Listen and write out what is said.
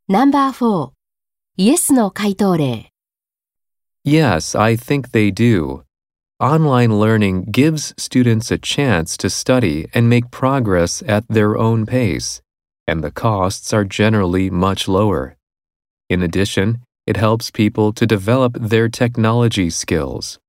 No.4 イエスの回答例 Yes, I think they do. Online learning gives students a chance to study and make progress at their own pace, and the costs are generally much lower. In addition, it helps people to develop their technology skills.